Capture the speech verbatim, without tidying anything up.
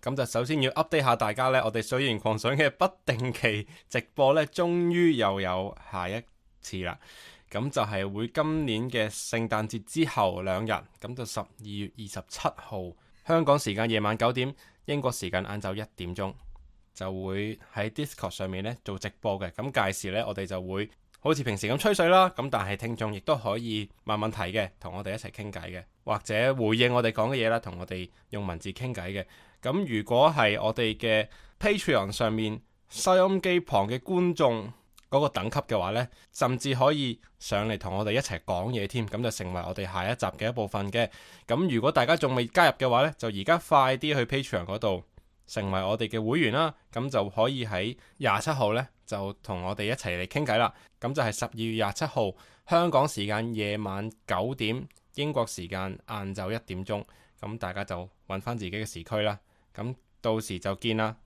咁就首先要 update 下大家呢，我哋水源狂想嘅不定期直播呢，終於又有下一次啦。咁就係會今年嘅聖誕節之後兩日，咁就十二月二十七號香港時間夜晚九點，英國時間晏晝一點鐘，就會喺 Discord 上面呢做直播嘅。咁屆時呢，我哋就會好似平時咁吹水啦。咁但係聽眾亦都可以問問題嘅，同我哋一齊傾偈嘅，或者回應我哋講嘅嘢啦，同我哋用文字傾偈嘅。咁如果係我哋嘅 Patreon 上面收音機旁嘅觀眾嗰個等級嘅話呢，甚至可以上嚟同我哋一齊講嘢添，咁就成為我哋下一集嘅一部分嘅。咁如果大家仲未加入嘅話呢，就而家快啲去 Patreon 嗰度成為我哋嘅會員啦，咁就可以喺廿七號呢，就同我哋一齊嚟傾偈啦。咁就係十二月廿七號香港時間夜晚九點，英國時間晏晝一點鐘，咁大家就揾翻自己嘅時區啦。咁到時就見啦。